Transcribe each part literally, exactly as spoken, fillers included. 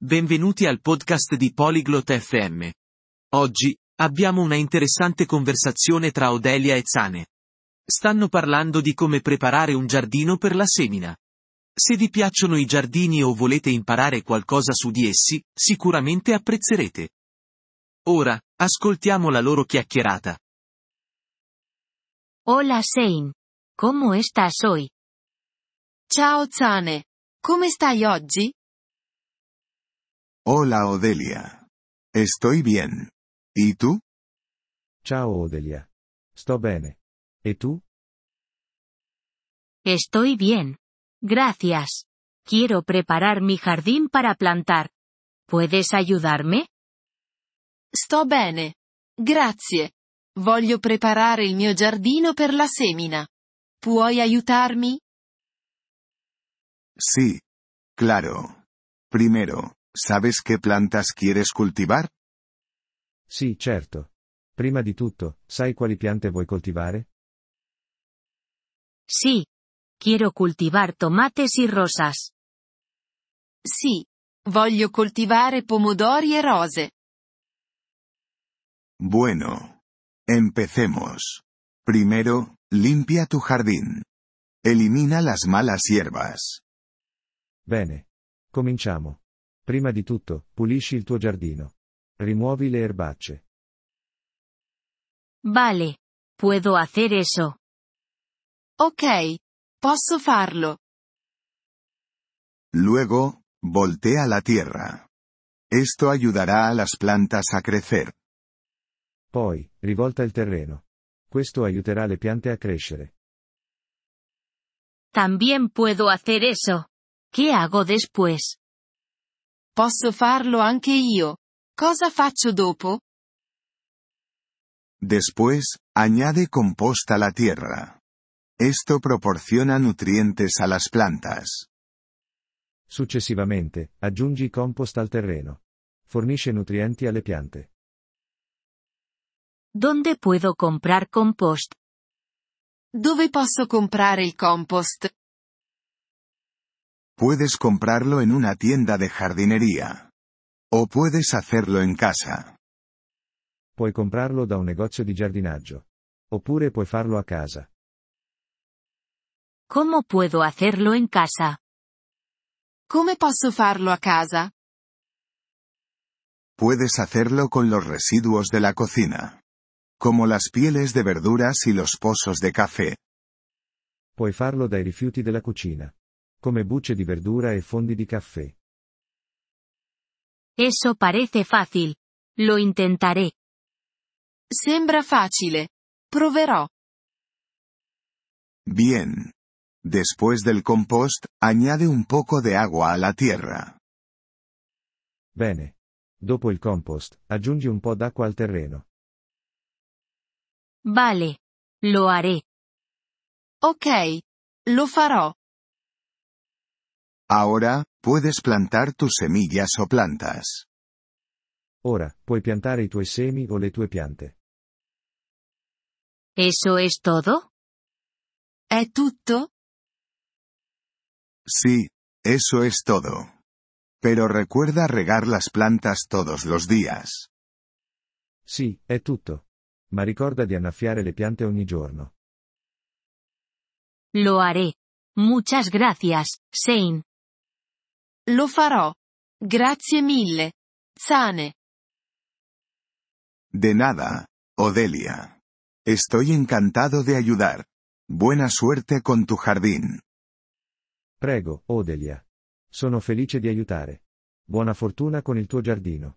Benvenuti al podcast di Polyglot F M. Oggi, abbiamo una interessante conversazione tra Odelia e Zane. Stanno parlando di come preparare un giardino per la semina. Se vi piacciono i giardini o volete imparare qualcosa su di essi, sicuramente apprezzerete. Ora, ascoltiamo la loro chiacchierata. Hola Zane. ¿Cómo estás hoy? Ciao Zane. Come stai oggi? Hola Odelia. Estoy bien. ¿Y tú? Ciao Odelia. Sto bene. E tu? Estoy bien. Gracias. Quiero preparar mi jardín para plantar. ¿Puedes ayudarme? Sto bene. Grazie. Voglio preparare il mio giardino per la semina. Puoi aiutarmi? Sí. Claro. Primero, ¿sabes qué plantas quieres cultivar? Sì, certo. Prima di tutto, sai quali piante vuoi coltivare? Sí. Quiero cultivar tomates y rosas. Sì. Voglio coltivare pomodori e rose. Bueno. Empecemos. Primero, limpia tu jardín. Elimina las malas hierbas. Bene. Cominciamo. Prima di tutto, pulisci il tuo giardino. Rimuovi le erbacce. Vale. Puedo hacer eso. Ok. Posso farlo. Luego, voltea la tierra. Esto ayudará a las plantas a crecer. Poi, rivolta il terreno. Questo aiuterà le piante a crescere. También puedo hacer eso. ¿Qué hago después? Posso farlo anche io. Cosa faccio dopo? Después, añade compost a la tierra. Esto proporciona nutrientes a las plantas. Successivamente, aggiungi compost al terreno. Fornisce nutrienti alle piante. ¿Dónde puedo comprar compost? Dove posso comprare il compost? Puedes comprarlo en una tienda de jardinería. O puedes hacerlo en casa. Puoi comprarlo da un negozio di giardinaggio. Oppure puoi farlo a casa. ¿Cómo puedo hacerlo en casa? Come posso farlo a casa? Puedes hacerlo con los residuos de la cocina. Como las pieles de verduras y los pozos de café. Puoi farlo dai rifiuti della cucina. Come bucce di verdura e fondi di caffè. Eso parece fácil. Lo intentaré. Sembra facile. Proverò. Bien. Después del compost, añade un poco de agua a la tierra. Bene. Dopo il compost, aggiungi un po' d'acqua al terreno. Vale. Lo haré. Ok. Lo farò. Ahora, puedes plantar tus semillas o plantas. Ora, puoi piantare i tuoi semi o le tue piante. ¿Eso es todo? È tutto? Sí, eso es todo. Pero recuerda regar las plantas todos los días. Sì, è tutto. Ma ricorda di annaffiare le piante ogni giorno. Lo haré. Muchas gracias, Zane. Lo farò. Grazie mille. Zane. De nada, Odelia. Estoy encantado de ayudar. Buena suerte con tu jardín. Prego, Odelia. Sono felice di aiutare. Buona fortuna con il tuo giardino.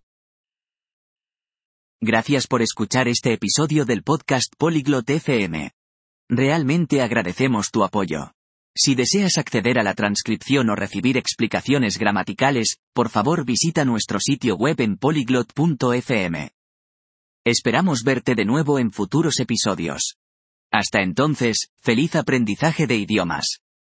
Gracias por escuchar este episodio del podcast Polyglot F M. Realmente agradecemos tu apoyo. Si deseas acceder a la transcripción o recibir explicaciones gramaticales, por favor visita nuestro sitio web en polyglot punto f m. Esperamos verte de nuevo en futuros episodios. Hasta entonces, feliz aprendizaje de idiomas.